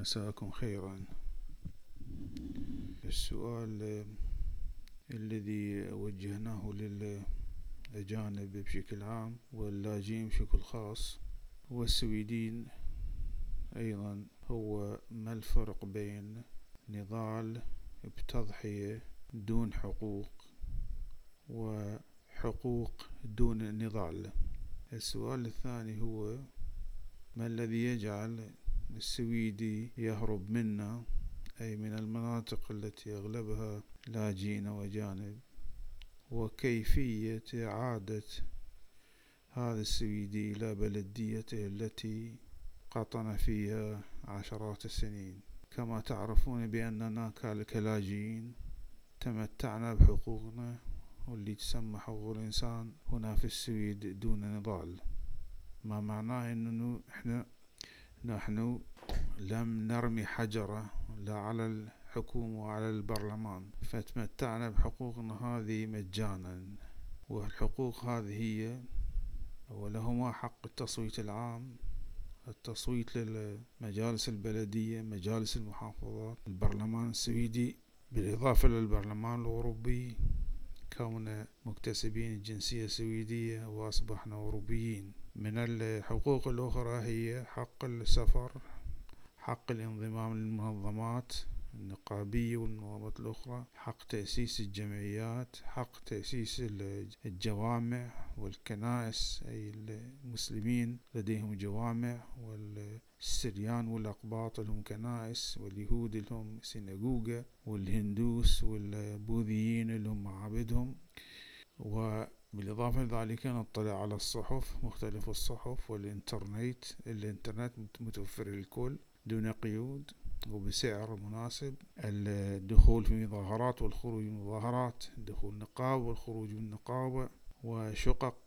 مساءكم خيرا. السؤال الذي وجهناه للأجانب بشكل عام واللاجئين بشكل خاص والسويدين أيضا هو ما الفرق بين نضال بتضحية دون حقوق وحقوق دون نضال؟ السؤال الثاني هو ما الذي يجعل السويدي يهرب منا، أي من المناطق التي أغلبها لاجئين وأجانب، وكيفية إعادة هذا السويدي إلى بلديته التي قطن فيها عشرات السنين. كما تعرفون بأننا كلاجئين تمتعنا بحقوقنا واللي تسمى حقوق الإنسان هنا في السويد دون نضال، ما معناه أنه نحن لم نرمي حجرة لا على الحكومة وعلى البرلمان، فتمتعنا بحقوقنا هذه مجانا. والحقوق هذه هي ولهما حق التصويت العام، التصويت للمجالس البلدية، مجالس المحافظات، البرلمان السويدي، بالإضافة للبرلمان الأوروبي كوننا مكتسبين الجنسية السويدية وأصبحنا أوروبيين. من الحقوق الأخرى هي حق السفر، حق الانضمام للمنظمات النقابية والمنظمات الأخرى، حق تأسيس الجمعيات، حق تأسيس الجوامع والكنائس، أي المسلمين لديهم جوامع، والسريان والأقباط لهم كنائس، واليهود لهم سيناغوغة، والهندوس والبوذيين لهم معابدهم. وبالإضافة لذلك نطلع على الصحف، مختلف الصحف، والإنترنت متوفر للكل دون قيود وبسعر مناسب، الدخول في مظاهرات والخروج من مظاهرات، دخول نقاب والخروج من نقابة، وشقق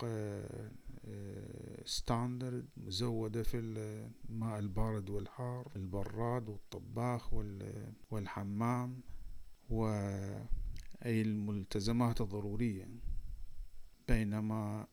ستاندرد مزودة في الماء البارد والحار، البراد والطباخ والحمام، وأي الملتزمات الضرورية. بينما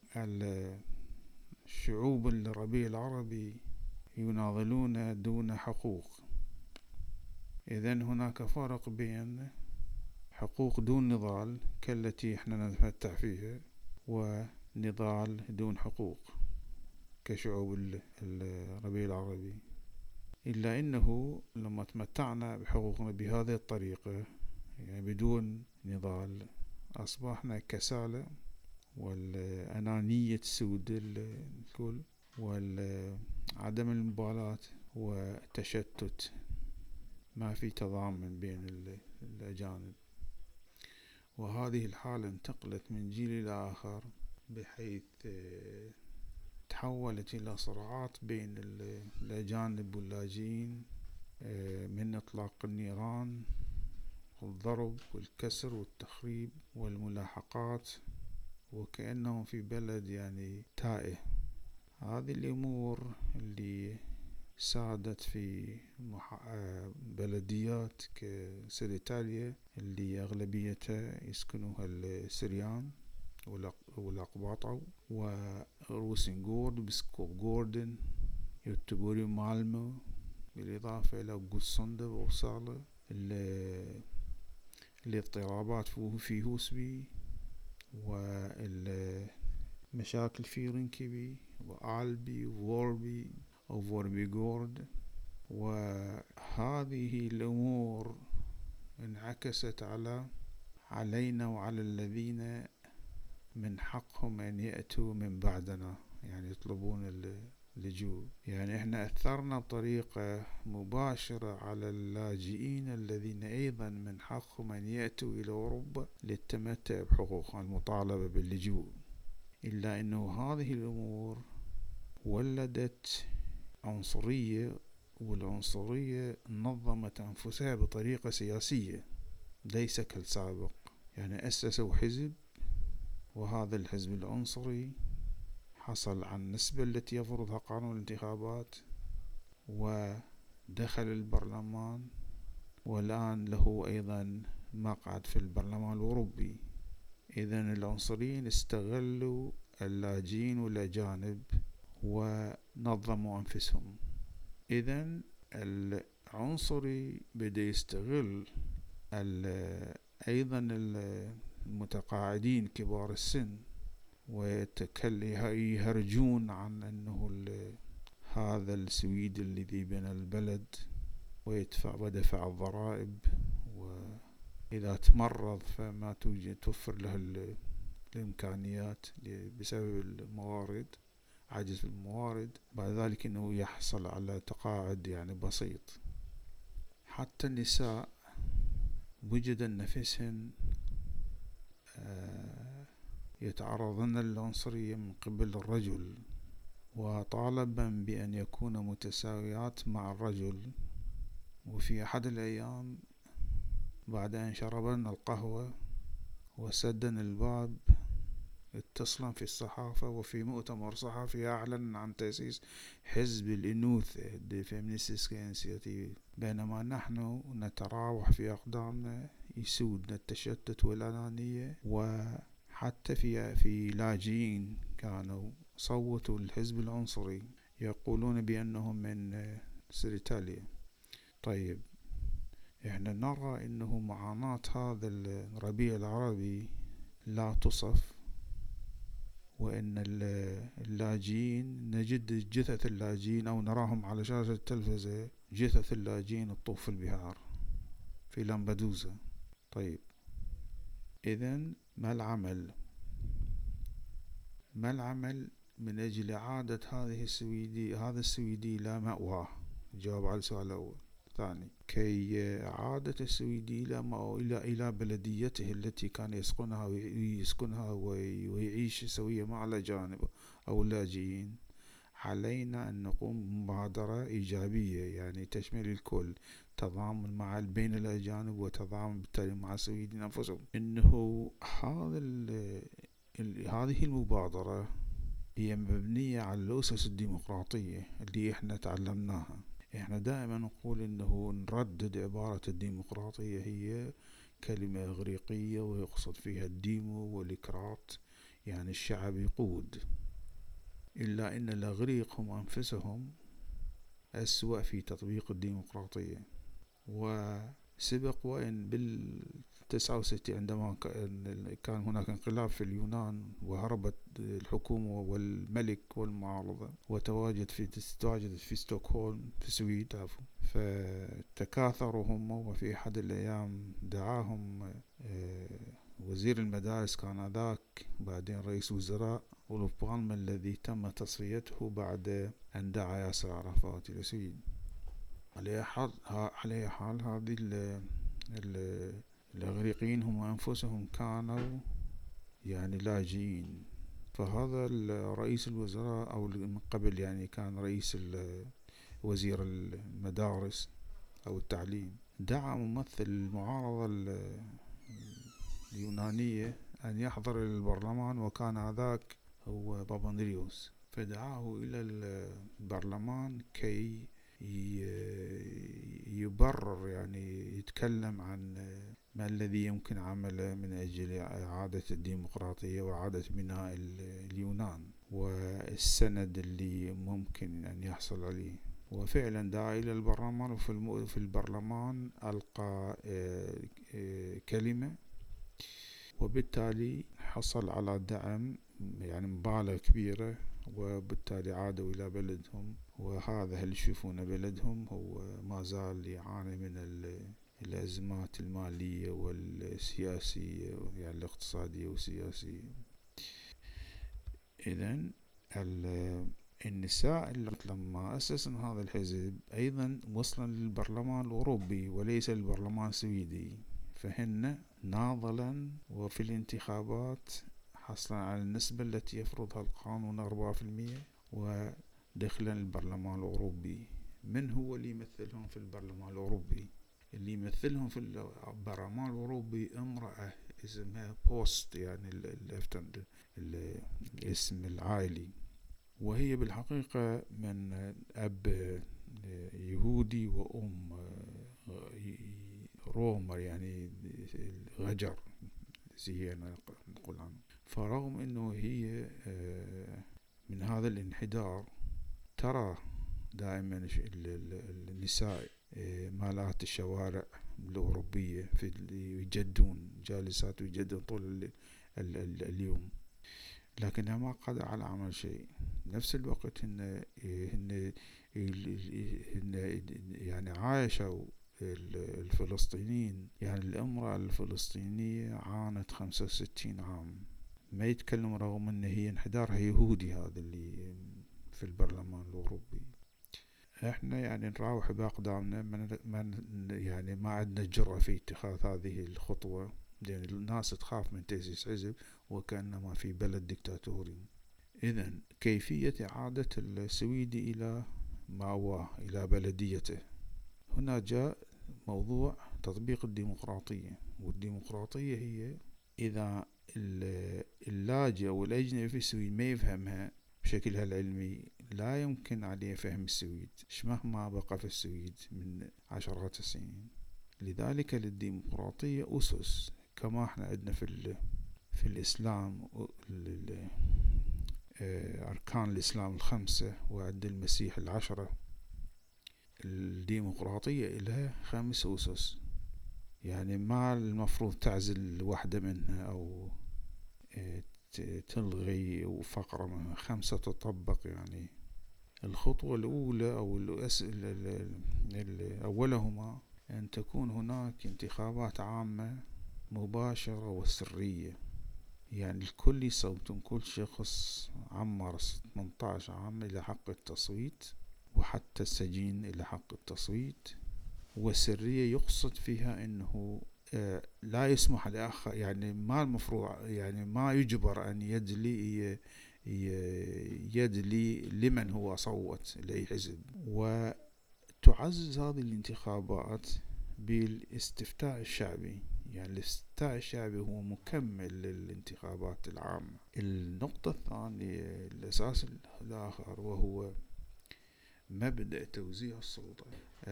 الشعوب الربيع العربي يناضلون دون حقوق. إذن هناك فرق بين حقوق دون نضال كالتي احنا نتمتع فيها، ونضال دون حقوق كشعوب الربيع العربي. إلا أنه لما تمتعنا بحقوقنا بهذه الطريقة، يعني بدون نضال، أصبحنا كسالى والأنانية تسود الكل، وعدم المبالاة وتشتت، ما في تضامن بين الأجانب. وهذه الحالة انتقلت من جيل إلى آخر، بحيث تحولت إلى صراعات بين الأجانب واللاجئين، من إطلاق النيران والضرب والكسر والتخريب والملاحقات، وكأنهم في بلد يعني تائه. هذه الأمور اللي سادت في بلديات كسيليتاليا اللي أغلبيتها يسكنوها السريان والأقباط، وروسنغورد وبسكوغوردن، يوتبوري مالمو، بالإضافة إلى قوسندا وصالة، الاضطرابات في هوسبي، والمشاكل في رنكبي وآلبي ووربي وفوربيغورد. وهذه الأمور انعكست علينا وعلى الذين من حقهم أن يأتوا من بعدنا، يعني يطلبون اللجوء. يعني احنا أثرنا بطريقة مباشرة على اللاجئين الذين أيضا من حقهم أن يأتوا إلى أوروبا للتمتع بحقوقهم المطالبة باللجوء. إلا أنه هذه الأمور ولدت عنصرية، والعنصرية نظمت أنفسها بطريقة سياسية ليس كالسابق. يعني أسسوا حزب، وهذا الحزب العنصري حصل على النسبة التي يفرضها قانون الانتخابات، ودخل البرلمان، والآن له أيضا مقعد في البرلمان الأوروبي. إذن العنصريين استغلوا اللاجئين والأجانب ونظموا أنفسهم. إذن عنصري بدأ يستغل أيضا المتقاعدين كبار السن، ويهرجون عن أنه هذا السويدي الذي بنى البلد ودفع الضرائب، وإذا تمرض فما توفر له الإمكانيات بسبب الموارد، عجز الموارد، بعد ذلك أنه يحصل على تقاعد يعني بسيط. حتى النساء وجد نفسهن يتعرضن للعنصرية من قبل الرجل، وطالبا بأن يكون متساويات مع الرجل. وفي أحد الأيام بعد أن شربن القهوة وسدن الباب، اتصلا في الصحافة وفي مؤتمر صحفي أعلن عن تأسيس حزب الأنوثة The Feminist Initiative، بينما نحن نتراوح في أقدامنا يسودنا التشتت والأنانية. وحتى في لاجئين كانوا صوتوا الحزب العنصري يقولون بأنهم من سريتاليا. طيب، احنا نرى انه معاناة هذا الربيع العربي لا تصف، وان اللاجئين نجد جثث اللاجئين او نراهم على شاشة التلفزة، جثث اللاجئين تطوف في البحار في لامبدوزا. طيب، اذن ما العمل من اجل اعادة هذا السويدي لا مأواه؟ جاوب على السؤال الاول. ثاني، كي عادة السويدي إلى بلديته التي كان يسكنها ويعيش سويا مع الأجانب أو اللاجئين، علينا أن نقوم بمبادرة إيجابية يعني تشمل الكل، تضامن بين الأجانب وتضامن بالتالي مع السويدين أنفسهم. إنه هذه المبادرة هي مبنية على الأسس الديمقراطية اللي إحنا تعلمناها. احنا دائما نقول انه نردد عبارة الديمقراطية هي كلمة اغريقية ويقصد فيها الديمو والإكرات، يعني الشعب يقود. إلا أن الأغريق هم أنفسهم أسوأ في تطبيق الديمقراطية. وسبق وإن بال69 عندما كان هناك انقلاب في اليونان وهربت الحكومة والملك والمعارضة وتواجدت في ستوكهولم في السويد، فتكاثروا هم. وفي أحد الأيام دعاهم وزير المدارس كان ذاك، بعدين رئيس وزراء أولوف بالمة الذي تم تصفيته بعد أن دعا ياسر عرفات إلى السويد. على حال هذه الأغريقيين هم أنفسهم كانوا يعني لاجئين. فهذا رئيس الوزراء أو من قبل يعني كان رئيس وزير المدارس أو التعليم، دعا ممثل المعارضة اليونانية أن يحضر إلى البرلمان، وكان ذاك هو باباندريوس، فدعاه إلى البرلمان كي يبرر يعني يتكلم عن ما الذي يمكن عمله من أجل إعادة الديمقراطية وإعادة بناء اليونان والسند اللي ممكن أن يحصل عليه. وفعلا دعا إلى البرلمان، وفي البرلمان ألقى كلمة، وبالتالي حصل على دعم يعني مبالغ كبيرة، وبالتالي عادوا إلى بلدهم. وهذا اللي يشوفون بلدهم هو ما زال يعاني من الأزمات المالية والسياسية، يعني الاقتصادية والسياسية. إذن النساء لما أسسن هذا الحزب أيضا وصلا للبرلمان الأوروبي وليس للبرلمان السويدي، فهن ناضلا وفي الانتخابات حصلا على النسبة التي يفرضها القانون 4%، ودخلا البرلمان الأوروبي. من هو اللي يمثلهم في البرلمان الأوروبي؟ اللي يمثلهم في البرلمان الأوروبي امرأة اسمها بوست، يعني الاسم العائلي، وهي بالحقيقة من أب يهودي وأم رومر، يعني غجر زي نقول عنه. فرغم أنه هي من هذا الانحدار، ترى دائما النساء مالات الشوارع الأوروبية يجدون جالسات ويجدون طول اليوم، لكنها ما قدر على عمل شيء. نفس الوقت هن يعني عايشوا الفلسطينيين، يعني الامرأة الفلسطينية عانت 65 عام ما يتكلم، رغم ان هي انحدارها يهودي هذا اللي في البرلمان الأوروبي. احنا يعني نراوح بأقدامنا، يعني ما عندنا جرأة في اتخاذ هذه الخطوة، لأن الناس تخاف من تأسيس حزب وكأنما في بلد ديكتاتوري. إذن كيفية إعادة السويدي إلى مأواه، إلى بلديته. هنا جاء موضوع تطبيق الديمقراطية، والديمقراطية هي إذا اللاجئ أو الأجنبي في السويد ما يفهمها بشكلها العلمي، لا يمكن عليه فهم السويد مهما بقى في السويد من عشرات السنين. لذلك للديمقراطية أسس، كما احنا عندنا في الإسلام أركان الإسلام 5 وعند المسيح 10. الديمقراطية لها 5 أسس، يعني ما المفروض تعزل واحدة منها أو تلغي فقرة منها، 5 تطبق. يعني الخطوة الأولى أو أولهما أن تكون هناك انتخابات عامة مباشرة وسرية، يعني الكل يصوتون، كل شخص عمر 18 عام إلى حق التصويت، وحتى السجين إلى حق التصويت. وسرية يقصد فيها أنه لا يسمح لآخر، يعني ما المفروض، يعني ما يجبر أن يدلي لمن هو صوت لأي حزب. وتعزز هذه الانتخابات بالاستفتاء الشعبي، يعني الاستفتاء الشعبي هو مكمل للانتخابات العامة. النقطة الثانية، الأساس الآخر، وهو مبدأ توزيع السلطة.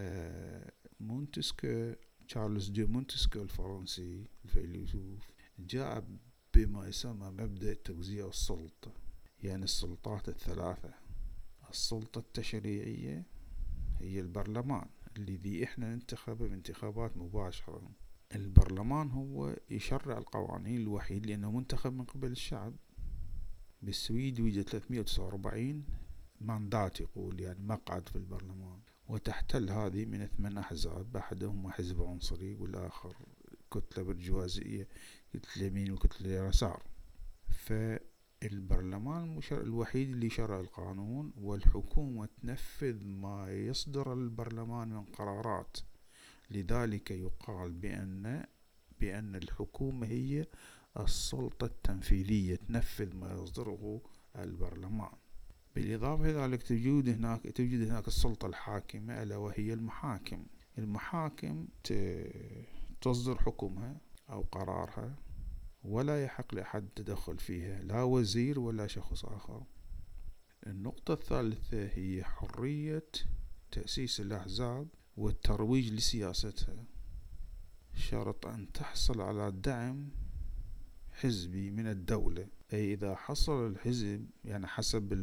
مونتسكيو، تشارلز دي مونتسكيو الفرنسي الفيلسوف، جاء بما يسمى مبدأ توزيع السلطة، يعني السلطات الثلاثة. السلطة التشريعية هي البرلمان الذي احنا ننتخبه بانتخابات مباشرة. البرلمان هو يشرع القوانين الوحيد لأنه منتخب من قبل الشعب. بالسويد يوجد 349 ماندات، يقول يعني مقعد في البرلمان، وتحتل هذه من 8 أحزاب، أحدهم حزب عنصري والآخر كتلة برجوازية، كتلة يمين وكتلة يسار. فالبرلمان الوحيد اللي شرع القانون، والحكومة تنفذ ما يصدر البرلمان من قرارات. لذلك يقال بأن الحكومة هي السلطة التنفيذية، تنفذ ما يصدره البرلمان. بالإضافة إلى ذلك توجد هناك السلطة الحاكمة، ألا وهي المحاكم. المحاكم تصدر حكمها أو قرارها، ولا يحق لأحد التدخل فيها، لا وزير ولا شخص آخر. النقطة الثالثة هي حرية تأسيس الأحزاب والترويج لسياستها، شرط أن تحصل على دعم حزبي من الدولة. أي إذا حصل الحزب، يعني حسب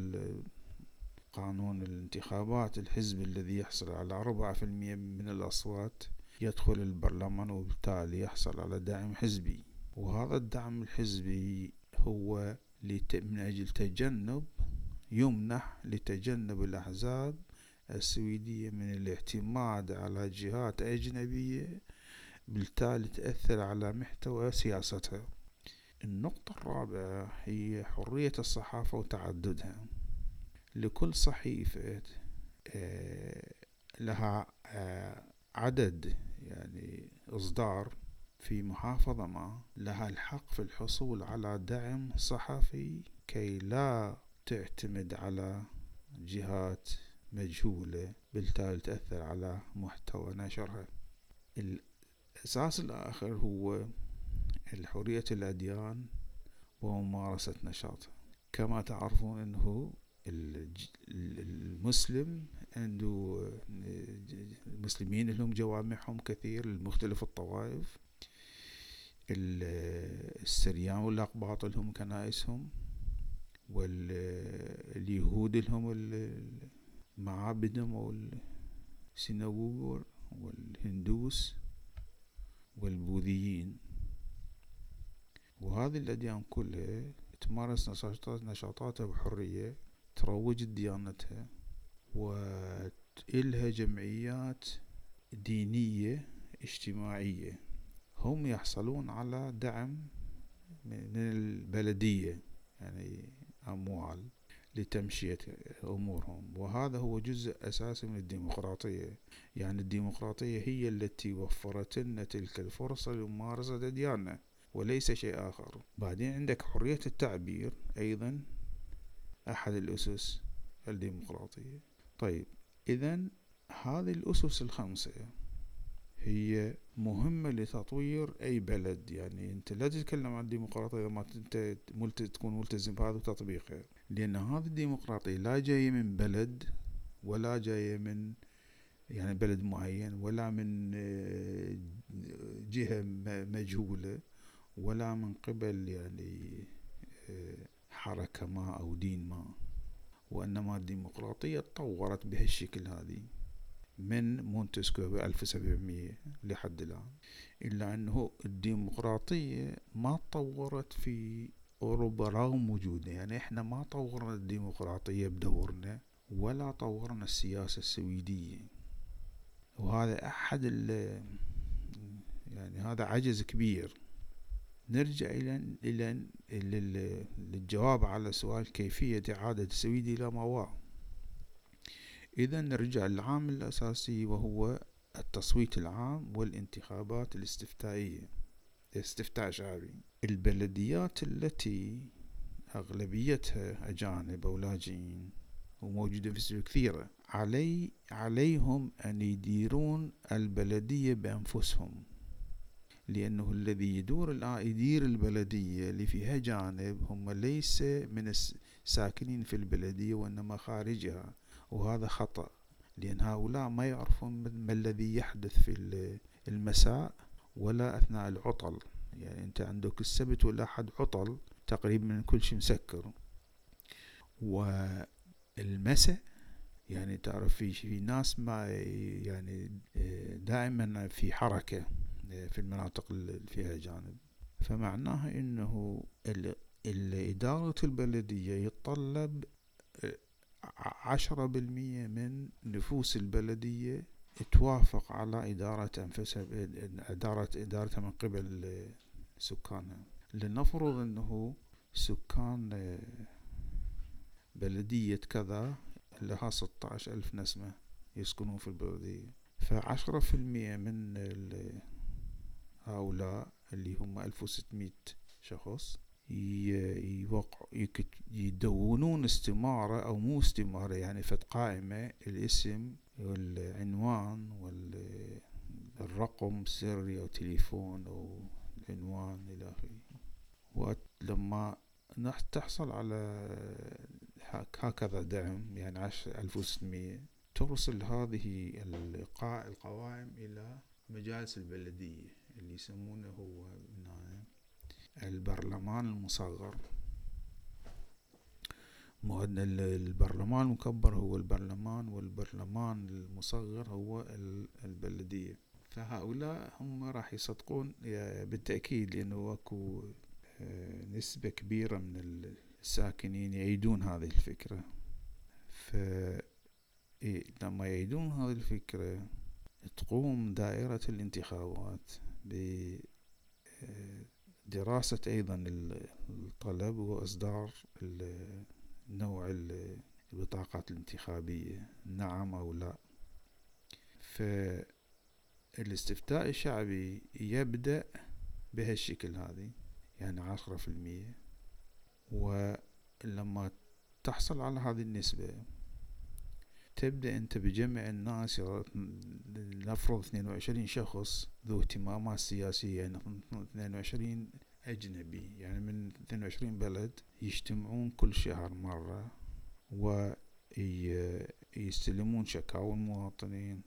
قانون الانتخابات، الحزب الذي يحصل على 4% من الأصوات يدخل البرلمان، وبالتالي يحصل على دعم حزبي. وهذا الدعم الحزبي هو من أجل يمنح لتجنب الأحزاب السويدية من الاعتماد على جهات أجنبية، بالتالي تأثر على محتوى سياستها. النقطة الرابعة هي حرية الصحافة وتعددها. لكل صحيفة لها عدد، يعني إصدار في محافظة ما، لها الحق في الحصول على دعم صحفي كي لا تعتمد على جهات مجهولة، بالتالي تأثر على محتوى نشرها. الأساس الآخر هو حرية الأديان وممارسة نشاطها. كما تعرفون أنه المسلم عنده المسلمين لهم جوامعهم كثير لمختلف الطوائف، السريان والأقباط لهم كنائسهم، واليهود لهم معابدهم أو السيناغوغ، والهندوس والبوذيين. وهذه الأديان كلها تمارس نشاطاتها بحرية، تروج ديانتها، وإلها جمعيات دينية اجتماعية. هم يحصلون على دعم من البلدية، يعني أموال لتمشية أمورهم، وهذا هو جزء أساسي من الديمقراطية. يعني الديمقراطية هي التي وفرت لنا تلك الفرصة لممارسة أدياننا وليس شيء آخر. بعدين عندك حرية التعبير أيضا أحد الأسس الديمقراطية. طيب، إذن هذه الأسس الخمسة هي مهمة لتطوير أي بلد. يعني أنت لا تتكلم عن الديمقراطية إذا ما أنت تكون ملتزم بهذا وتطبيقها، لأن هذه الديمقراطية لا جاية من بلد، ولا جاية من يعني بلد معين، ولا من جهة مجهولة، ولا من قبل يعني حركة ما أو دين ما، وإنما الديمقراطية تطورت بهالشكل هذه من مونتسكيو ب1700 لحد الآن. إلا أنه الديمقراطية ما تطورت في أوروبا رغم وجودها. يعني إحنا ما طورنا الديمقراطية بدورنا، ولا طورنا السياسة السويدية، وهذا أحد يعني هذا عجز كبير. نرجع إلى للجواب على سؤال كيفية إعادة السويد إلى ما هو. إذا نرجع للعامل الأساسي، وهو التصويت العام والانتخابات الاستفتائية، استفتاء شعبي. البلديات التي أغلبيتها أجانب أو لاجئين وموجودة في السويد كثيرة، عليهم أن يديرون البلدية بأنفسهم، لأنه الذي يدير البلدية اللي فيها جانب هم ليس من الساكنين في البلدية وإنما خارجها. وهذا خطأ، لأن هؤلاء ما يعرفون ما الذي يحدث في المساء ولا أثناء العطل. يعني أنت عندك السبت والأحد عطل تقريبا كل شيء مسكر، والمساء يعني تعرف في ناس ما يعني دائما في حركة في المناطق اللي فيها جانب. فمعناها انه إدارة البلدية يتطلب 10% من نفوس البلدية توافق على إدارة أنفسها، إدارتها من قبل سكانها. لنفرض أنه سكان بلدية كذا لها 16,000 نسمة يسكنون في البلدية، ف10% من هؤلاء اللي هم 1600 شخص يدونون استمارة أو مو استمارة، يعني فد قائمة، الاسم والعنوان والرقم سري أو تليفون أو العنوان إلى آخره. ولما تحصل على هكذا دعم، يعني 1600، ترسل هذه القوائم إلى مجالس البلدية اللي يسمونه هو البرلمان المصغر. البرلمان المكبر هو البرلمان، والبرلمان المصغر هو البلدية. فهؤلاء هم راح يصدقون بالتأكيد، لأنه اكو نسبة كبيرة من الساكنين يعيدون هذه الفكرة. لما يعيدون هذه الفكرة تقوم دائرة الانتخابات بدراسة أيضا الطلب وإصدار نوع البطاقات الانتخابية، نعم أو لا. فالاستفتاء الشعبي يبدأ بهالشكل هذه، يعني 10%. ولما تحصل على هذه النسبة تبدأ أنت بجمع الناس. نفرض 22 شخص ذو اهتمامات سياسية، يعني 22 أجنبي، يعني من 22 بلد يجتمعون كل شهر مرة ويستلمون شكاوى المواطنين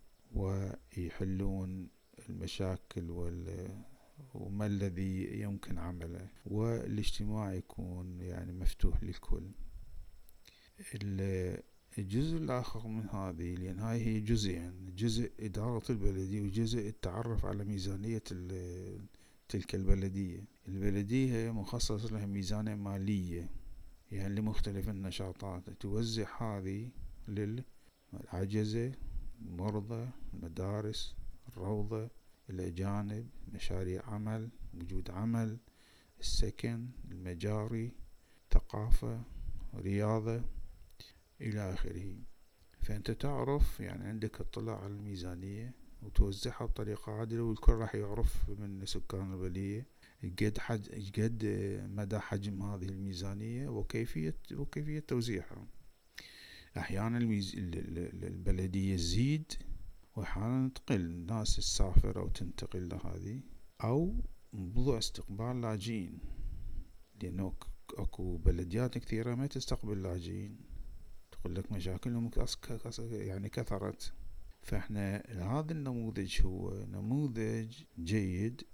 ويحلون المشاكل وما الذي يمكن عمله، والاجتماع يكون يعني مفتوح للكل. الجزء الآخر من هذه، لأن هاي هي جزئين: جزء إدارة البلدية وجزء التعرف على ميزانية تلك البلدية. البلدية هي مخصص لها ميزانية مالية يعني لمختلف النشاطات، توزع هذه للعجزة، المرضى، المدارس، الروضة، الأجانب، مشاريع عمل، وجود عمل، السكن، المجاري، ثقافة، رياضة، إلى آخره. فأنت تعرف يعني عندك اطلاع على الميزانية وتوزعها بطريقة عادلة، والكل راح يعرف من سكان البلدية قد مدى حجم هذه الميزانية وكيفية توزيعها. أحيانا البلدية تزيد، وأحيانا تقل، الناس تسافر أو تنتقل لهذه، أو موضوع استقبال لاجئين، لأنه أكو بلديات كثيرة ما تستقبل لاجئين، تقول لك مشاكلهم يعني كثرت. فإحنا هذا النموذج هو نموذج جيد،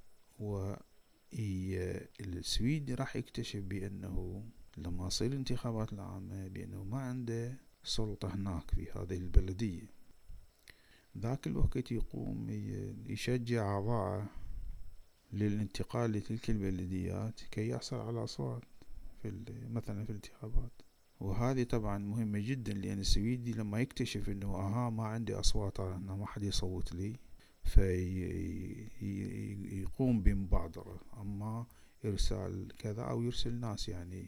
والسويدي راح يكتشف بأنه لما يصير الانتخابات العامة بأنه ما عنده سلطة هناك في هذه البلدية. ذاك الوقت يقوم يشجع أعضاءه للانتقال لتلك البلديات كي يحصل على أصوات مثلا في الانتخابات. وهذه طبعا مهمة جدا، لأن السويدي لما يكتشف أنه ما عندي أصوات، أنه ما حد يصوت لي، فيقوم بمبادرة، أما إرسال كذا أو يرسل ناس يعني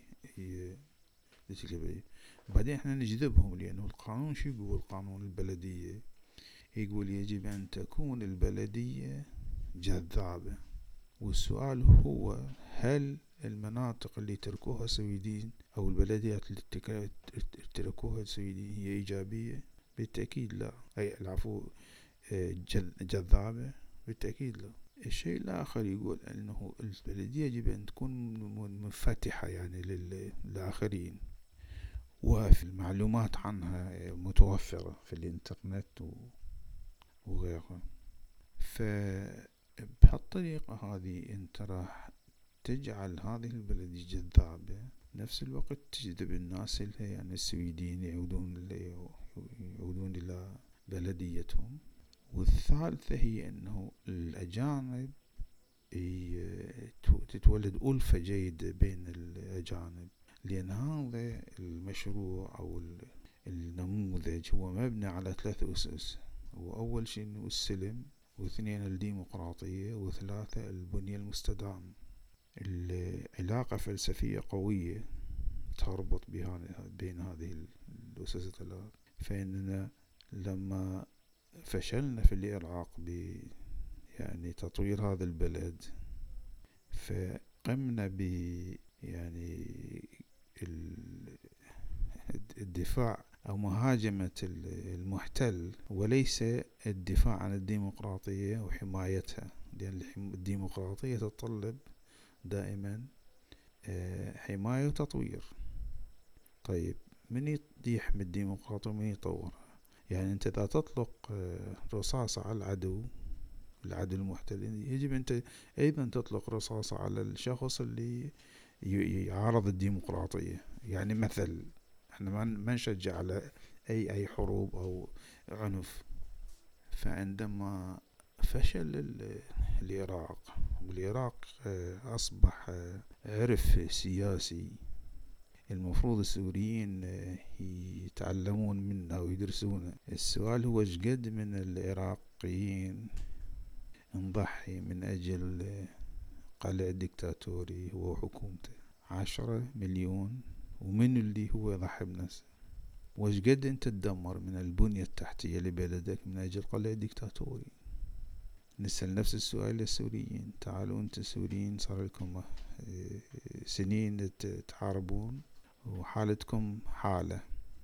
بعدين احنا نجذبهم، لأنه القانون شو يقول؟ قانون البلدية يقول يجب أن تكون البلدية جذابة. والسؤال هو: هل المناطق اللي تركوها السويديين أو البلديات اللي تركوها السويديين هي إيجابية؟ بالتأكيد لا. العفو، جذابة؟ بالتأكيد لا. الشيء الآخر يقول أنه البلدية يجب أن تكون منفتحة يعني للآخرين، وفي المعلومات عنها متوفرة في الإنترنت وغيرها. فبهالطريقة هذه أنت راح تجعل هذه البلدية جذابة، نفس الوقت تجذب الناس اللي يعني السويديين يعودون إلى بلديتهم. والثالثة هي أنه الأجانب تتولد ألفة جيدة بين الأجانب، لأن هذا المشروع أو النموذج هو مبني على 3 أسس. وأول شيء أنه السلم، واثنين الديمقراطية، وثلاثة البنية المستدامة. العلاقة فلسفية قوية تربط بين هذه الأسس الثلاث. فإننا لما فشلنا في العراق يعني تطوير هذا البلد، فقمنا يعني الدفاع أو مهاجمة المحتل، وليس الدفاع عن الديمقراطية وحمايتها، لأن الديمقراطية تتطلب دائما حماية وتطوير. طيب، من يحمي الديمقراطية ومن يطورها؟ يعني أنت إذا تطلق رصاصة على العدو المحتل، يجب أنت أيضا تطلق رصاصة على الشخص اللي يعارض الديمقراطية. يعني مثل احنا ما نشجع على أي حروب أو عنف. فعندما فشل العراق، والعراق أصبح عرف سياسي المفروض السوريين يتعلمون منه ويدرسونه، السؤال هو: شقد من العراقيين نضحي من أجل قلع ديكتاتوري هو وحكومته؟ 10 مليون. ومن اللي هو يضحي بنفسه؟ وشقد انت تدمر من البنية التحتية لبلدك من أجل قلع ديكتاتوري؟ نسأل نفس السؤال للسوريين. تعالوا انت السوريين صار لكم سنين تحاربون، وحالتكم حالة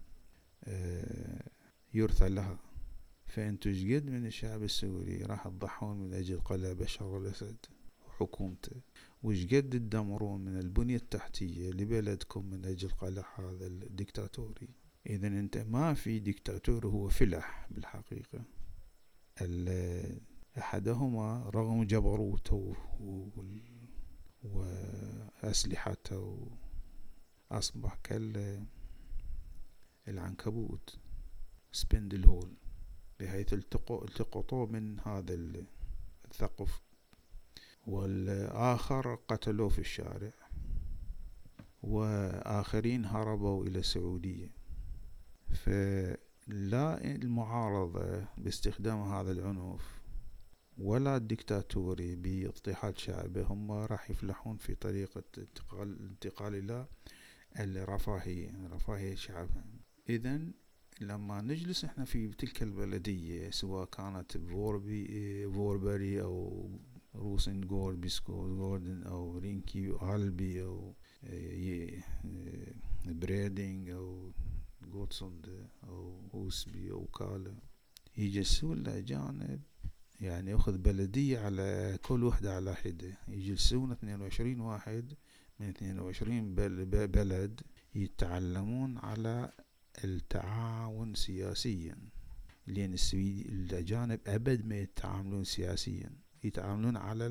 يرثى لها، فأنتوا شقد من الشعب السوري راح تضحون من أجل قلع بشار الأسد وحكومته؟ وشقد تدمرون من البنية التحتية لبلدكم من أجل قلع هذا الديكتاتوري؟ إذن أنت ما في ديكتاتور، هو فلح بالحقيقة. أحدهما رغم جبروته وأسلحته أصبح العنكبوت سبندل هول، بحيث التقطوه من هذا الثقب، والآخر قتلوه في الشارع، وآخرين هربوا إلى السعودية. فلا المعارضة باستخدام هذا العنف ولا الدكتاتوري باضطهاد شعبه هم راح يفلحون في طريقة الانتقال إلى رفاهية شعبها. إذن لما نجلس احنا في تلك البلدية، سواء كانت فوربري أو روسنغورد بيسكوردن أو رينكي ألبي أو بريدينغ أو غوتسوند أو هوسبي أو كالا، يجلسون الأجانب يعني يأخذ بلدية على كل وحدة على حدة، يجلسون 22 واحد من 22 بلد يتعلمون على التعاون سياسيا، لأن الأجانب أبد ما يتعاملون سياسيا، يتعاملون على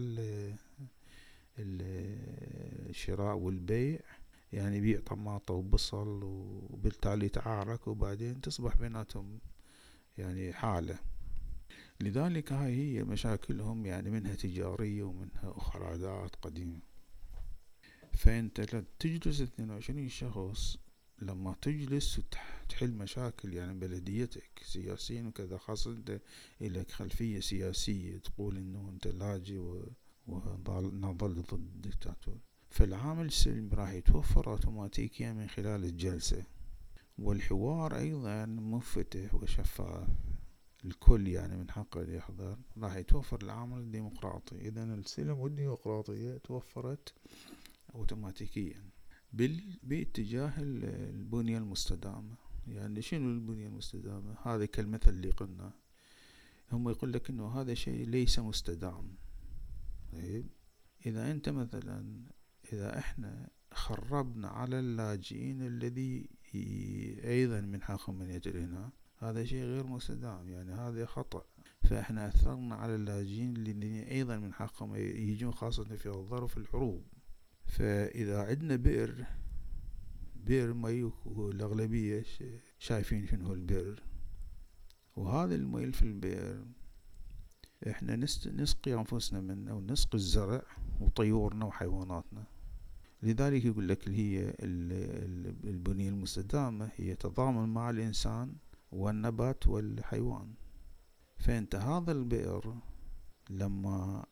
الشراء والبيع، يعني بيع طماطة وبصل وبالتالي تعارك وبعدين تصبح بيناتهم يعني حالة. لذلك هاي هي مشاكلهم، يعني منها تجارية ومنها أخرى عادات قديمة. فأنت تجلس 22 شخص، لما تجلس وتحل مشاكل يعني بلديتك سياسيا وكذا، خاصة أنت إلك خلفية سياسية تقول إنه أنت لاجئ ونظل ضد الدكتاتور، فالعامل السلمي راح يتوفر أوتوماتيكيا من خلال الجلسة، والحوار أيضا منفتح وشفاف، الكل يعني من حقه يحضر، راح يتوفر العامل الديمقراطي. إذن السلم والديمقراطية توفرت أوتوماتيكيا باتجاه البنية المستدامة. يعني شنو البنية المستدامة؟ هذا كالمثل اللي قلنا، هم يقول لك إنه هذا شيء ليس مستدام. طيب إذا أنت مثلا، إذا إحنا خربنا على اللاجئين الذي أيضا من حقهم من يجري هنا، هذا شيء غير مستدام، يعني هذا خطأ. فإحنا أثرنا على اللاجئين اللي أيضا من حقهم يجون، خاصة في ظرف الحروب. فإذا عندنا بئر مي، والأغلبية شايفين شنو البئر، وهذا المي في البئر إحنا نسقي أنفسنا منه ونسقي الزرع وطيورنا وحيواناتنا. لذلك يقول لك هي البنية المستدامة هي تضامن مع الإنسان والنبات والحيوان. فأنت هذا البئر لما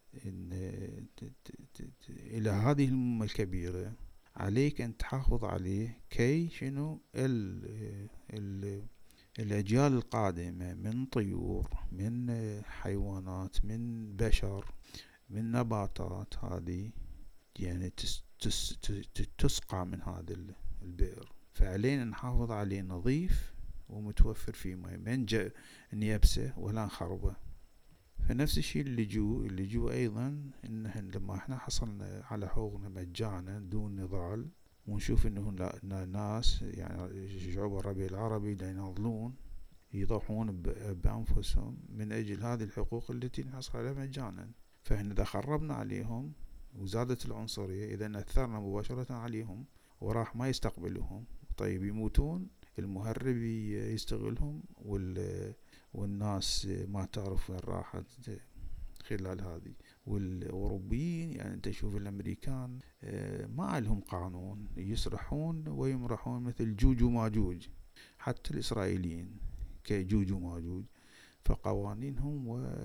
إلى هذه المهمة الكبيرة عليك أن تحافظ عليه، كي شنو الأجيال القادمة من طيور، من حيوانات، من بشر، من نباتات، هذه يعني تسقى من هذا البئر. فعلينا نحافظ عليه نظيف ومتوفر فيه ماء، من يبسه ولا نخربه. فنفس الشيء اللجوء أيضا، إن لما احنا حصلنا على حقوقنا مجانا دون نضال، ونشوف إنه ناس يعني شعوب الربيع العربي يناضلون يضحون بأنفسهم من أجل هذه الحقوق التي نحصل عليها مجانا، فإحنا إذا خربنا عليهم وزادت العنصرية، إذا أثرنا مباشرة عليهم وراح ما يستقبلوهم، طيب يموتون، المهرب يستغلهم، والناس ما تعرف وين راحت خلال هذه. والأوروبيين يعني أنت تشوف الأمريكان ما لهم قانون، يسرحون ويمرحون مثل جوج وماجوج، حتى الإسرائيليين كجوج وماجوج. فقوانينهم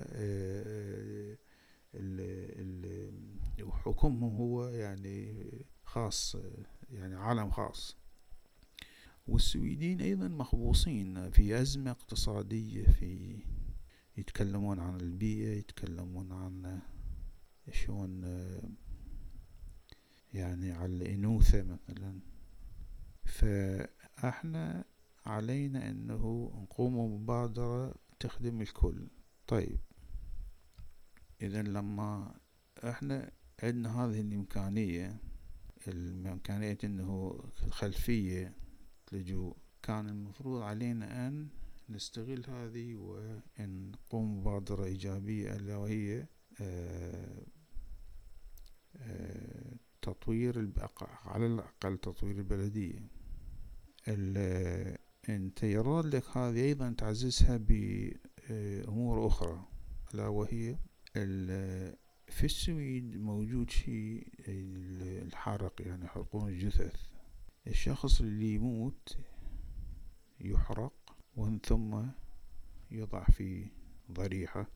وحكمهم هو يعني خاص، يعني عالم خاص. والسويدين أيضا مخبوصين في أزمة اقتصادية، يتكلمون عن البيئة، يتكلمون عن شلون يعني على الإنوثة مثلا. فإحنا علينا أنه نقوم بمبادرة تخدم الكل. طيب إذا لما إحنا عندنا هذه الإمكانية أنه الخلفية لجوء، كان المفروض علينا أن نستغل هذه وأن نقوم بمبادرة إيجابية، ألا وهي تطوير على الأقل تطوير البلدية. انت يراد لك هذه ايضا تعززها بامور اخرى، الا وهي في السويد موجود شيء الحرق، يعني يحرقون الجثث. الشخص اللي يموت يحرق ومن ثم يوضع في ضريحة،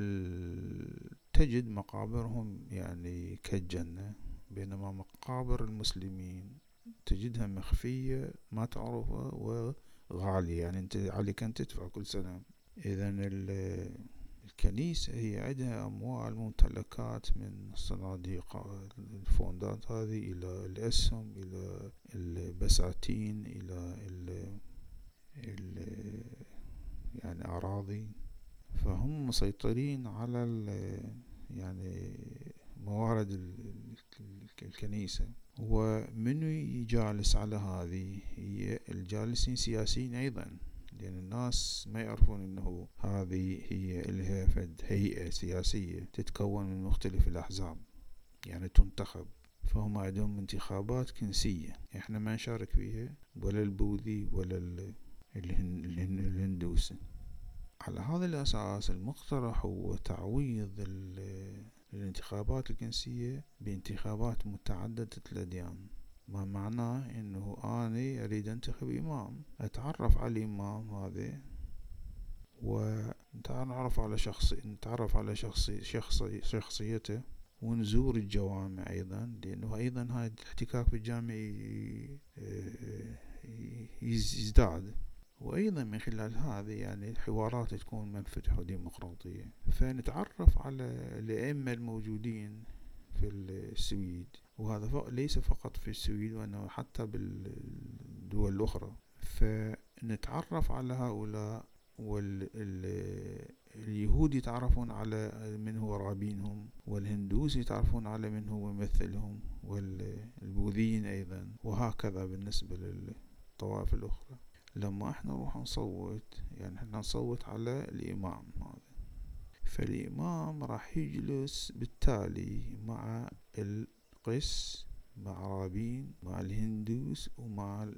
وتجد مقابرهم يعني كالجنة، بينما مقابر المسلمين تجدها مخفية ما تعرفها وغالية، يعني انت عليك ان تدفع كل سنة. اذا الكنيسة هي عندها اموال ممتلكات، من الصناديق الفوندات هذه الى الاسهم الى البساتين الى يعني اراضي، فهم مسيطرين على يعني موارد الكنيسة. ومنو يجالس على هذه؟ هي الجالسين سياسيين أيضا، لأن الناس ما يعرفون أنه هذه هي لها فد هيئة سياسية تتكون من مختلف الأحزاب، يعني تنتخب. فهم عندهم انتخابات كنسية احنا ما نشارك فيها، ولا البوذي ولا الهندوسي. على هذا الأساس المقترح هو تعويض الانتخابات الكنسية بانتخابات متعددة الأديان، ما معناه أنه أنا أريد أنتخب إمام، أتعرف على الإمام هذا ونتعرف على شخصيته، ونزور الجوامع أيضا، لأنه أيضا هاي الاحتكاك بالجامع يزداد، وأيضا من خلال هذه يعني الحوارات تكون منفتحة وديمقراطية. فنتعرف على الأئمة الموجودين في السويد، وهذا ليس فقط في السويد وإنما حتى بالدول الأخرى. فنتعرف على هؤلاء، واليهود يتعرفون على من هو رابينهم، والهندوس يتعرفون على من هو ممثلهم، والبوذيين أيضا، وهكذا بالنسبة للطوائف الأخرى. لما احنا نروح نصوت، يعني احنا نصوت على الإمام هذا، فالإمام راح يجلس بالتالي مع القس، مع رابين، مع الهندوس، ومع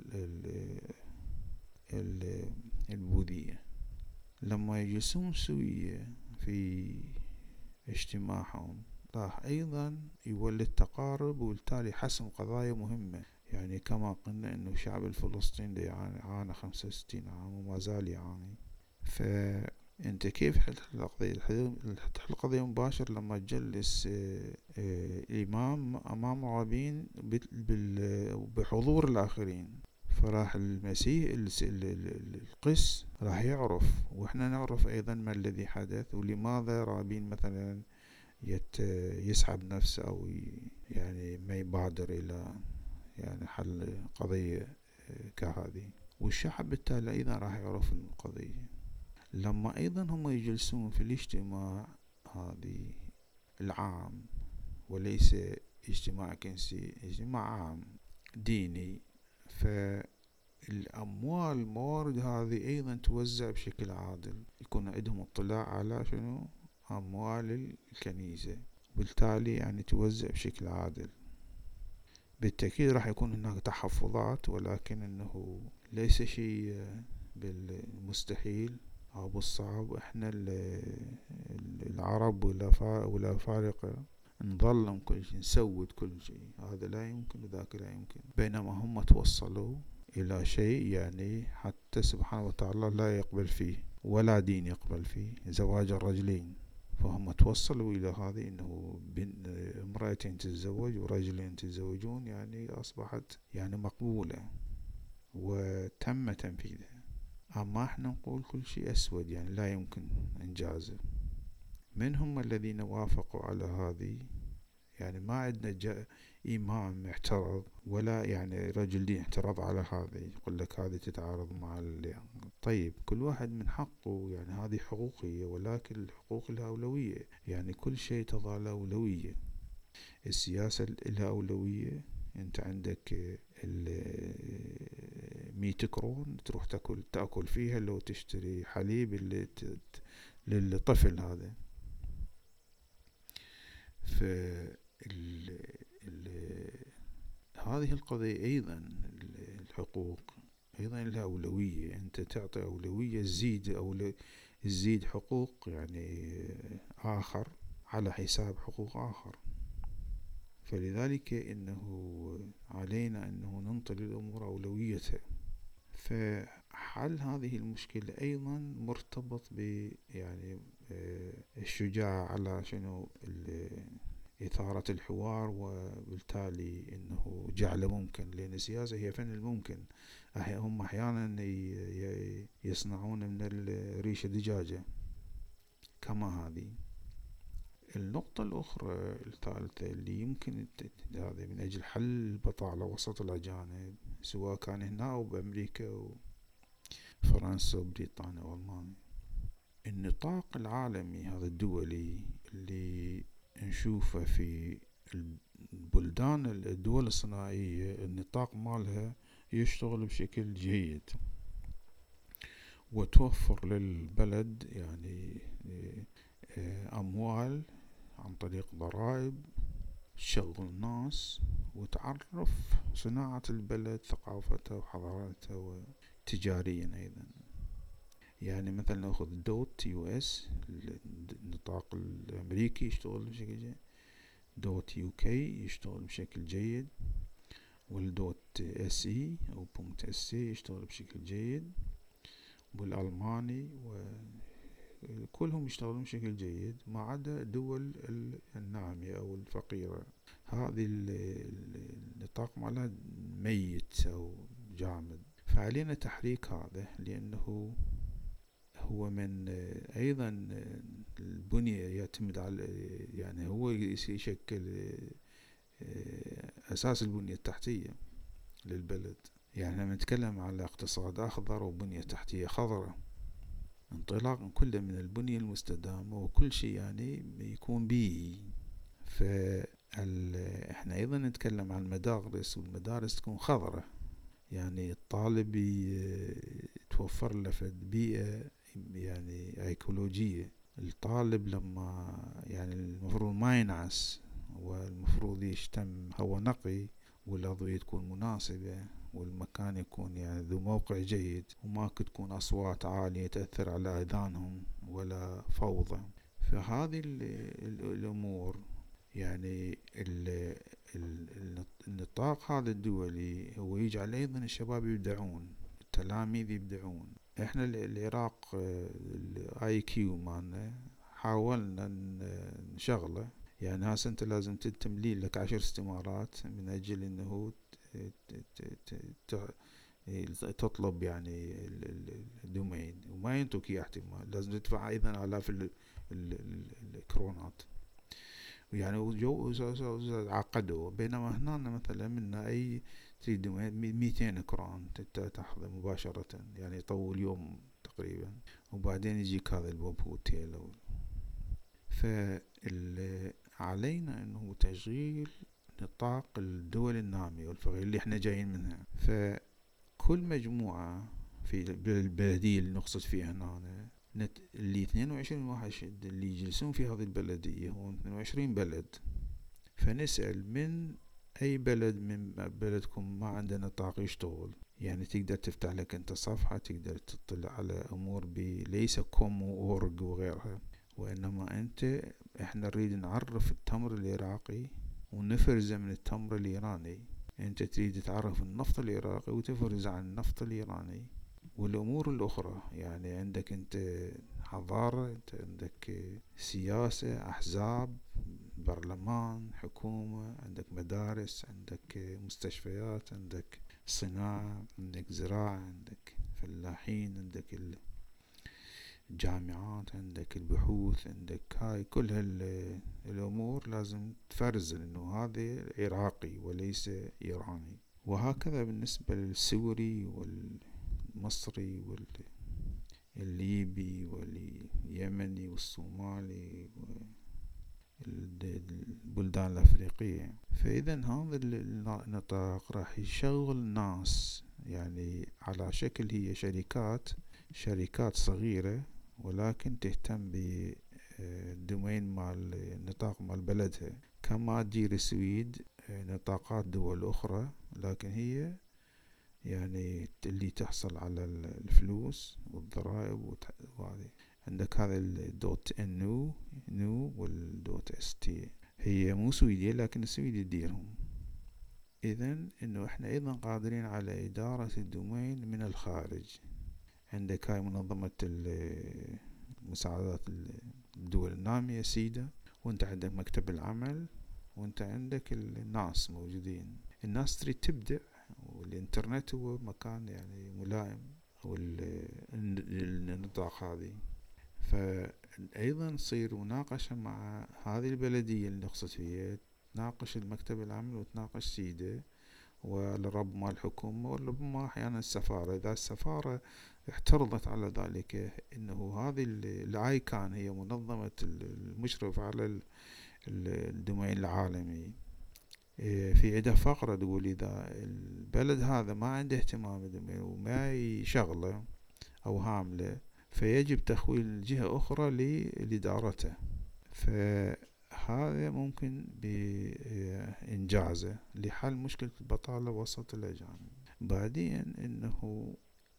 البوذية. لما يجلسون سوية في اجتماعهم راح أيضا يولد تقارب، وبالتالي حسم قضايا مهمة. يعني كما قلنا أنه الشعب الفلسطيني يعاني 65 عام وما زال يعاني، فأنت كيف حل القضية؟ تحل القضية مباشر لما تجلس الإمام أمام رابين بحضور الآخرين. فراح المسيح القس راح يعرف، وإحنا نعرف أيضا ما الذي حدث، ولماذا رابين مثلا يسحب نفسه أو يعني ما يبادر إلى يعني حل قضية كهذه. والشعب بالتالي أيضا راح يعرف القضية. لما أيضا هم يجلسون في الاجتماع هذه العام، وليس اجتماع كنسي، اجتماع عام ديني، فالأموال الموارد هذه أيضا توزع بشكل عادل، يكون عندهم اطلاع على شنو أموال الكنيسة، بالتالي يعني توزع بشكل عادل. بالتأكيد راح يكون هناك تحفظات، ولكن انه ليس شيء بالمستحيل او بالصعب. احنا العرب ولا فارقة نظلم كل شيء، نسود كل شيء، هذا لا يمكن وذاك لا يمكن، بينما هم توصلوا الى شيء يعني حتى سبحانه وتعالى لا يقبل فيه ولا دين يقبل فيه، زواج الرجلين. فهم توصلوا إلى هذه أنه امرأتين تتزوج ورجلين تتزوجون، يعني أصبحت يعني مقبولة وتم تنفيذها. أما احنا نقول كل شيء أسود، يعني لا يمكن إنجازه. من هم الذين وافقوا على هذه؟ يعني ما عندنا إمام اعترض، ولا يعني رجل دين اعترض على هذه، يقول لك هذه تتعارض مع طيب كل واحد من حقه، يعني هذه حقوقية، ولكن الحقوق لها أولوية، يعني كل شيء تضع له أولوية. السياسة لها أولوية، انت عندك 100 كرون تروح تأكل فيها لو تشتري حليب للطفل هذا. هذه القضية أيضا الحقوق أيضا لها أولوية، أنت تعطي أولوية تزيد حقوق يعني آخر على حساب حقوق آخر. فلذلك إنه علينا أنه ننطي للأمور أولويتها. فحل هذه المشكلة أيضا مرتبط ب يعني الشجاعة على شنو إثارة الحوار، وبالتالي أنه جعله ممكن، لأن السياسة هي فن الممكن. هم أحيانا يصنعون من الريشة دجاجة كما هذه. النقطة الأخرى الثالثة اللي يمكن هذا من أجل حل البطالة وسط الأجانب، سواء كان هنا أو بأمريكا وفرنسا وبريطانيا وألمانيا، النطاق العالمي هذا الدولي اللي نشوفه في الدول الصناعية، النطاق مالها يشتغل بشكل جيد وتوفر للبلد يعني أموال عن طريق ضرائب، تشغل ناس وتعرف صناعة البلد ثقافتها وحضارتها وتجاريا أيضا. يعني مثلا نأخذ دوت US النطاق الأمريكي يشتغل بشكل جيد، دوت UK يشتغل بشكل جيد، والدوت SE أو بونت SE يشتغل بشكل جيد، والألماني كلهم يشتغلون بشكل جيد ما عدا دول النامية أو الفقيرة. هذه النطاق مالها ميت أو جامد. فعلينا تحريك هذا، لأنه هو من أيضا البنية يعتمد على يعني هو يشكل أساس البنية التحتية للبلد. يعني لما نتكلم على اقتصاد أخضر وبنية تحتية خضراء، انطلاقا كله من البنية المستدامة وكل شيء يعني يكون بيئي. احنا أيضا نتكلم عن المدارس، والمدارس تكون خضراء، يعني الطالب توفر له في بيئة يعني ايكولوجية. الطالب لما يعني المفروض ما ينعس، والمفروض يشتم هواء نقي، والأضوية تكون مناسبة، والمكان يكون يعني ذو موقع جيد، وما تكون أصوات عالية تأثر على أذانهم ولا فوضى. فهذه الأمور يعني النطاق هذا الدولي هو يجعل أيضا الشباب يبدعون، التلاميذ يبدعون. احنا العراق IQ مالنا حاولنا نشغله، يعني هسه انت لازم تملي لك 10 استمارات من اجل انه تطلب يعني الدومين، وما ينطوك اياه احتمال، لازم تدفع ايضا الاف الكرونات، يعني عقدوا. بينما هنا مثلا منا اي تريد 200 كرون تاخذه مباشرة، يعني يطول يوم تقريبا، وبعدين يجيك هذا الويب هوتيل. فعلينا انه تشغيل نطاق الدول النامية والفقيرة اللي احنا جايين منها. فكل مجموعة في البلدية اللي نقصد فيها هنا، اللي 22 واحد اللي يجلسون في هذه البلدية هم 22 بلد. فنسأل من أي بلد من بلدكم ما عنده نطاق يشتغل، يعني تقدر تفتح لك أنت صفحة تقدر تطلع على أمور ليس كوم وأورج وغيرها، وإنما إحنا نريد نعرف التمر العراقي ونفرزه من التمر الإيراني. أنت تريد تعرف النفط العراقي وتفرز عن النفط الإيراني والأمور الأخرى. يعني عندك أنت حضارة، أنت عندك سياسة، أحزاب، برلمان، حكومة، عندك مدارس، عندك مستشفيات، عندك صناعة، عندك زراعة، عندك فلاحين، عندك الجامعات، عندك البحوث، عندك هاي كل الأمور لازم تفرز إنه هذا عراقي وليس إيراني. وهكذا بالنسبة للسوري والمصري والليبي واليمني والصومالي والبلدان الأفريقية. فإذا هذا النطاق راح يشغل ناس يعني على شكل هي شركات صغيرة، ولكن تهتم بالدومين مال النطاق مال بلدها، كما تجير السويد نطاقات دول أخرى، لكن هي يعني اللي تحصل على الفلوس والضرائب وهذه. عندك هذا الدوت NU والدوت ST، هي مو سويدية لكن السويد يديرهم. إذن إنه إحنا أيضا قادرين على إدارة الدومين من الخارج. عندك هاي منظمة مساعدات الدول النامية سيدا، وانت عندك مكتب العمل، وانت عندك الناس موجودين. الناس تريد تبدع، والإنترنت هو مكان يعني ملائم، أو النطاق هذه. فأيضا تصير مناقشة مع هذه البلدية اللي نقصد فيها، تناقش المكتب العمل وتناقش سيدة، ولربما الحكومة، ولربما أحيانا السفارة، إذا السفارة اعترضت على ذلك. إنه هذه الآيكان هي منظمة المشرف على الدومين العالمي، في عدة فقرة تقول إذا البلد هذا ما عنده اهتمام بالدومين وما يشغله أو هامله، فيجب تخويل جهة أخرى لإدارته. فهذا ممكن بإنجازه لحل مشكلة البطالة وسط الأجانب. بعدين إنه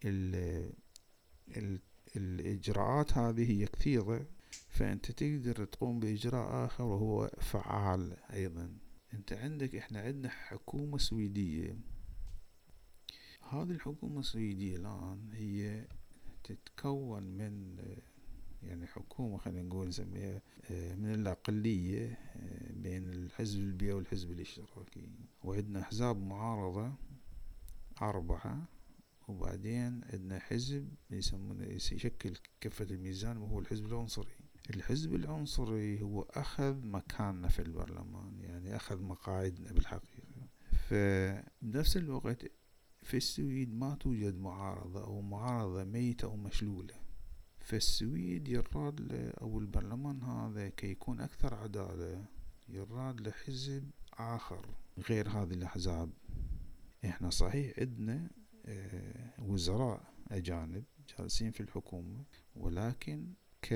الإجراءات هذه هي كثيرة، فأنت تقدر تقوم بإجراء آخر وهو فعال أيضا. أنت عندك، إحنا عندنا حكومة سويدية. هذه الحكومة السويدية الآن هي تتكون من يعني حكومة، خلينا نقول نسميها من الأقلية بين الحزب البيئي والحزب الاشتراكي، وعندنا أحزاب معارضة 4، وبعدين عندنا حزب يسمونه يشكل كفة الميزان وهو الحزب العنصري. الحزب العنصري هو أخذ مكاننا في البرلمان، يعني أخذ مقاعدنا بالحقيقة. فبنفس الوقت في السويد ما توجد معارضة، أو معارضة ميتة أو مشلولة. فالسويد يراد أو البرلمان هذا كي يكون أكثر عدالة يراد لحزب آخر غير هذه الأحزاب. إحنا صحيح عندنا وزراء أجانب جالسين في الحكومة، ولكن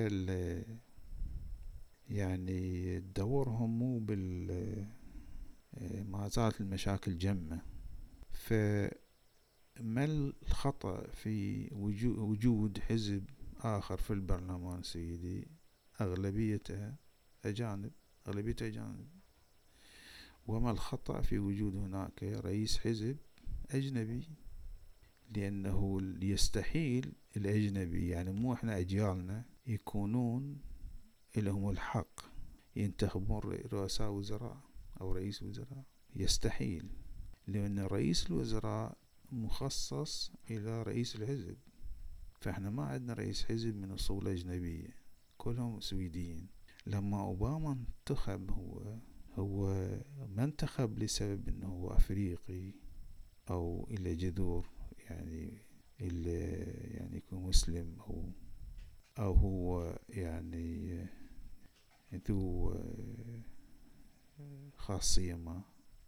يعني دورهم مو ما زالت المشاكل جمة. فما الخطأ في وجود حزب آخر في البرلمان السويدي أغلبيته أجانب، وما الخطأ في وجود هناك رئيس حزب أجنبي؟ لأنه يستحيل الأجنبي، يعني مو إحنا أجيالنا يكونون لهم الحق ينتخبون رؤساء وزراء أو رئيس وزراء، يستحيل. لأن رئيس الوزراء مخصص إلى رئيس الحزب، فإحنا ما عندنا رئيس حزب من أصول أجنبية، كلهم سويديين. لما أوباما انتخب، هو ما انتخب لسبب أنه هو أفريقي أو إلى جذور، يعني يكون مسلم، أو هو يعني ذو خاصية ما.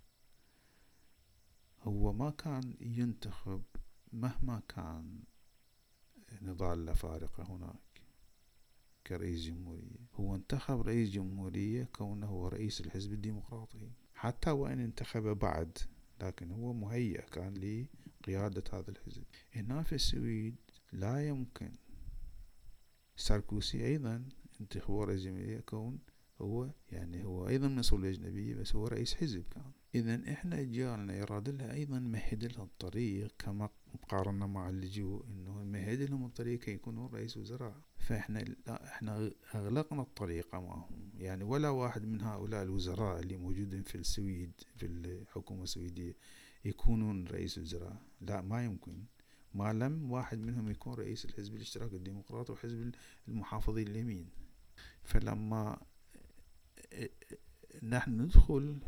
هو ما كان ينتخب مهما كان نضال الأفارقة هناك كرئيس جمهورية. هو انتخب رئيس جمهورية كونه هو رئيس الحزب الديمقراطي، حتى وإن انتخب بعد، لكن هو مهيأ كان لقيادة هذا الحزب. هنا في السويد لا يمكن. ساركوسي أيضا انتخبوا رئيس جمهورية كون هو أيضا من أصول أجنبية، بس هو رئيس حزب كان. إذن إحنا جالنا يراد لها أيضا مهد لها الطريق، كما مقارنة مع اللجوء، إنه مهد لهم الطريق كي يكونوا رئيس وزراء. فإحنا إحنا أغلقنا الطريق أمامهم، يعني ولا واحد من هؤلاء الوزراء اللي موجودين في السويد في الحكومة السويدية يكونون رئيس وزراء، لا، ما يمكن، ما لم واحد منهم يكون رئيس الحزب الاشتراكي الديمقراطي وحزب المحافظين اليمين. فلما نحن ندخل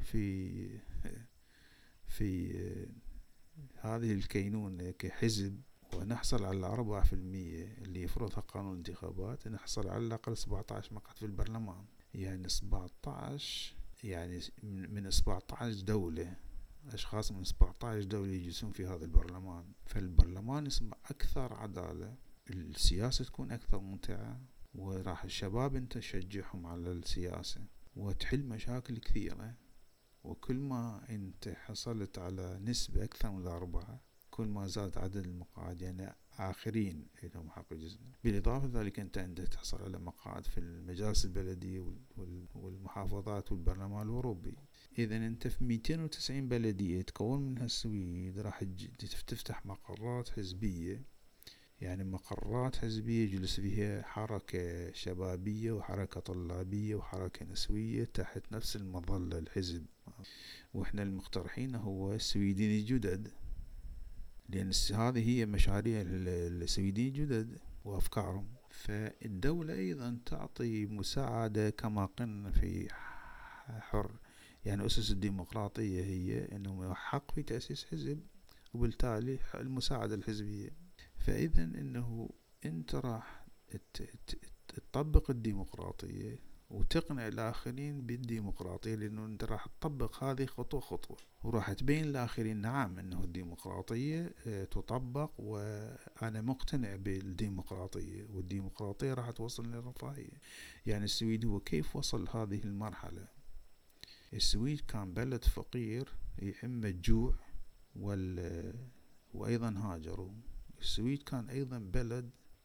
في هذه الكينونة كحزب ونحصل على 4% اللي يفرضها قانون الانتخابات، نحصل على الأقل 17 مقعد في البرلمان. يعني 17، يعني من 17 دولة، أشخاص من 17 دولة يجلسون في هذا البرلمان. فالبرلمان يصبح أكثر عدالة، السياسة تكون أكثر ممتعة، وراح الشباب أنت تشجعهم على السياسة وتحل مشاكل كثيرة. وكل ما أنت حصلت على نسبة أكثر من 4، كل ما زاد عدد المقاعد يعني آخرين لهم حق الجزء. بالإضافة لذلك أنت عندك تحصل على مقاعد في المجالس البلدية والمحافظات والبرلمان الأوروبي. إذا أنت في 290 بلدية تكون منها السويد راح تفتح مقرات حزبية، يعني مقرات حزبية يجلس فيها حركة شبابية وحركة طلابية وحركة نسوية تحت نفس المظلة الحزب. وإحنا المقترحين هو السويدين الجدد، لأن هذه هي مشاريع السويدين الجدد وأفكارهم. فالدولة أيضا تعطي مساعدة كما قلنا في حر، يعني أسس الديمقراطية هي أنه حق في تأسيس حزب وبالتالي المساعدة الحزبية. فإذا أنه أنت راح تطبق الديمقراطية وتقنع الآخرين بالديمقراطية، لأنه أنت راح تطبق هذه خطوة خطوة، وراح تبين الآخرين نعم أنه الديمقراطية تطبق وأنا مقتنع بالديمقراطية، والديمقراطية راح توصل للرفاهية. يعني السويد هو كيف وصل هذه المرحلة؟ السويد كان بلد فقير يهم الجوع وأيضا هاجروا. السويد كان أيضا بلد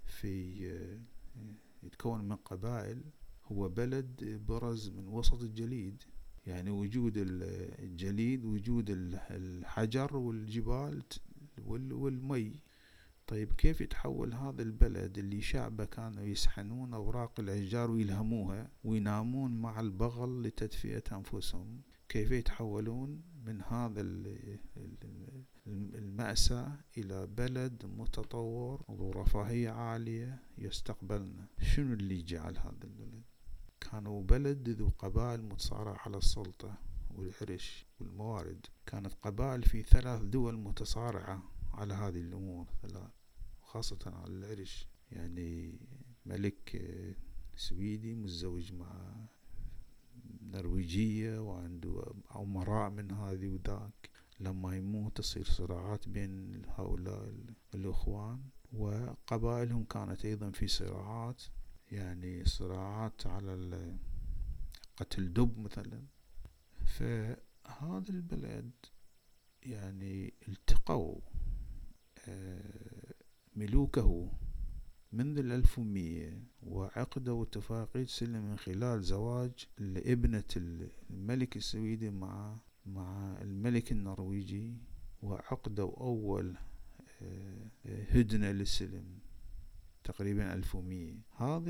يتكون من قبائل، هو بلد برز من وسط الجليد، يعني وجود الجليد وجود الحجر والجبال والمي. طيب كيف يتحول هذا البلد اللي شعبه كانوا يسحنون أوراق الأشجار ويلهموها وينامون مع البغل لتدفئة أنفسهم، كيف يتحولون من هذا المأساة إلى بلد متطور وذو رفاهية عالية يستقبلنا؟ شنو اللي جعل هذا البلد؟ كانوا بلد ذو قبائل متصارعة على السلطة والعرش والموارد. كانت قبائل في 3 دول متصارعة على هذه الأمور 3، خاصة على العرش. يعني ملك سويدي متزوج مع نرويجية وعنده أمراء من هذه وذاك، لما يموت تصير صراعات بين هؤلاء الأخوان، وقبائلهم كانت أيضا في صراعات، يعني صراعات على قتل دب مثلا. فهذا البلد يعني التقوا ملوكه منذ 1100 وعقدوا اتفاقية سلم من خلال زواج لابنة الملك السويدي مع الملك النرويجي، وعقدوا أول هدنة للسلم تقريبا 1100. هذه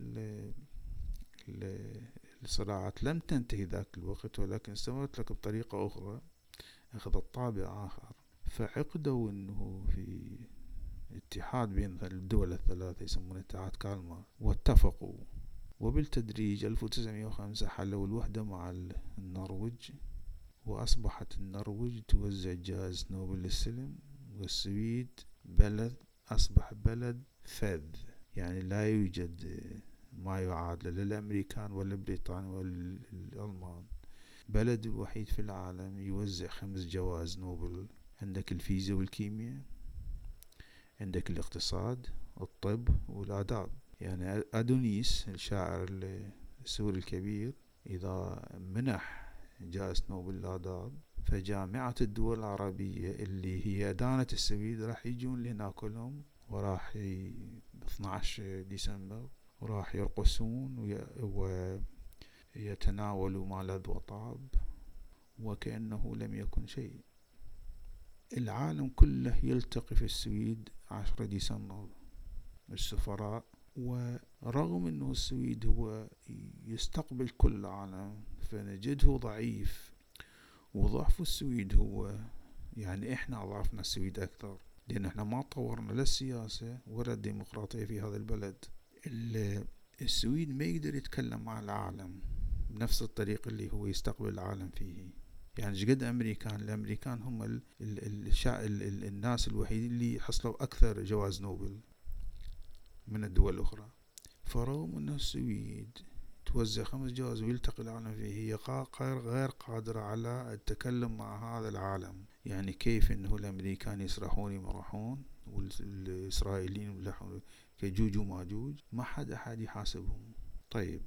الصراعات لم تنتهي ذاك الوقت، ولكن استمرت لك بطريقة أخرى، أخذت طابع آخر. فعقدوا أنه في اتحاد بين الدول الثلاثة يسمونه اتحاد كالمار، واتفقوا، وبالتدريج 1905 حلوا الوحدة مع النرويج، وأصبحت النرويج توزع جائزة نوبل للسلم، والسويد أصبح بلد فذ، يعني لا يوجد ما يعادل للأمريكان ولا البريطان ولا الألمان. بلد الوحيد في العالم يوزع 5 جوائز نوبل. عندك الفيزياء والكيمياء، عندك الاقتصاد، الطب والآداب. يعني أدونيس الشاعر السوري الكبير إذا منح جائزة نوبل للآداب، فجامعة الدول العربية اللي هي دانت السويد راح يجون لهنا كلهم، وراح 12 ديسمبر وراح يرقصون ويتناولوا ما لذ وطاب وكأنه لم يكن شيء. العالم كله يلتقي في السويد 10 ديسمبر السفراء، ورغم أنه السويد هو يستقبل كل العالم فنجده ضعيف، وضعف السويد هو يعني إحنا أضعفنا السويد أكثر، لأن إحنا ما طورنا لا السياسة ولا الديمقراطية في هذا البلد. السويد ما يقدر يتكلم مع العالم بنفس الطريقة اللي هو يستقبل العالم فيه. يعني جد الأمريكان هم الناس الوحيدين اللي حصلوا أكثر جوائز نوبل من الدول الأخرى. فرغم أن السويد توزع 5 جوائز ويلتقي العالم فيه، هي غير قادرة على التكلم مع هذا العالم. يعني كيف أنه الأمريكان يسرحون يمرحون والإسرائيليين يملحون كجوج وماجوج، ما حد يحاسبهم. طيب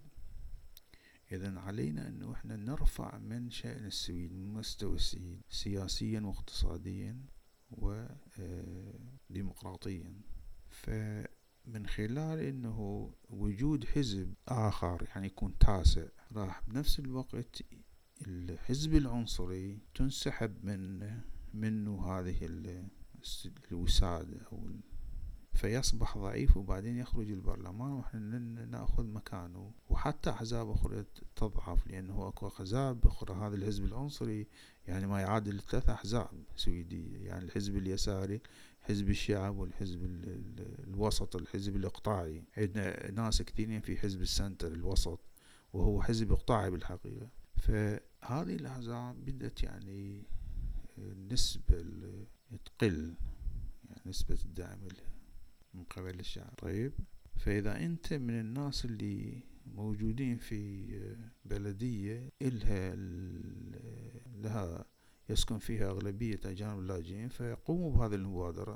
إذن علينا أنه إحنا نرفع من شأن السويد، من مستوى السويد سياسيا واقتصاديا وديمقراطيا. فمن خلال انه وجود حزب اخر يعني يكون تاسع، راح بنفس الوقت الحزب العنصري تنسحب منه هذه الوسادة فيصبح ضعيف، وبعدين يخرج البرلمان ونحن نأخذ مكانه. وحتى أحزاب أخرى تضعف، لأنه أكو أحزاب أخرى. هذا الحزب العنصري يعني ما يعادل 3 أحزاب سويدية، يعني الحزب اليساري، حزب الشعب، والحزب الوسط، الحزب الإقطاعي. عندنا ناس كثيرين في حزب السنتر الوسط، وهو حزب إقطاعي بالحقيقة. فهذه الأحزاب بدأت يعني النسبة تقل، يعني نسبة الدعم من قبل الشعب. طيب، فإذا أنت من الناس اللي موجودين في بلدية لها يسكن فيها أغلبية أجانب لاجئين، فيقوموا بهذه المبادرة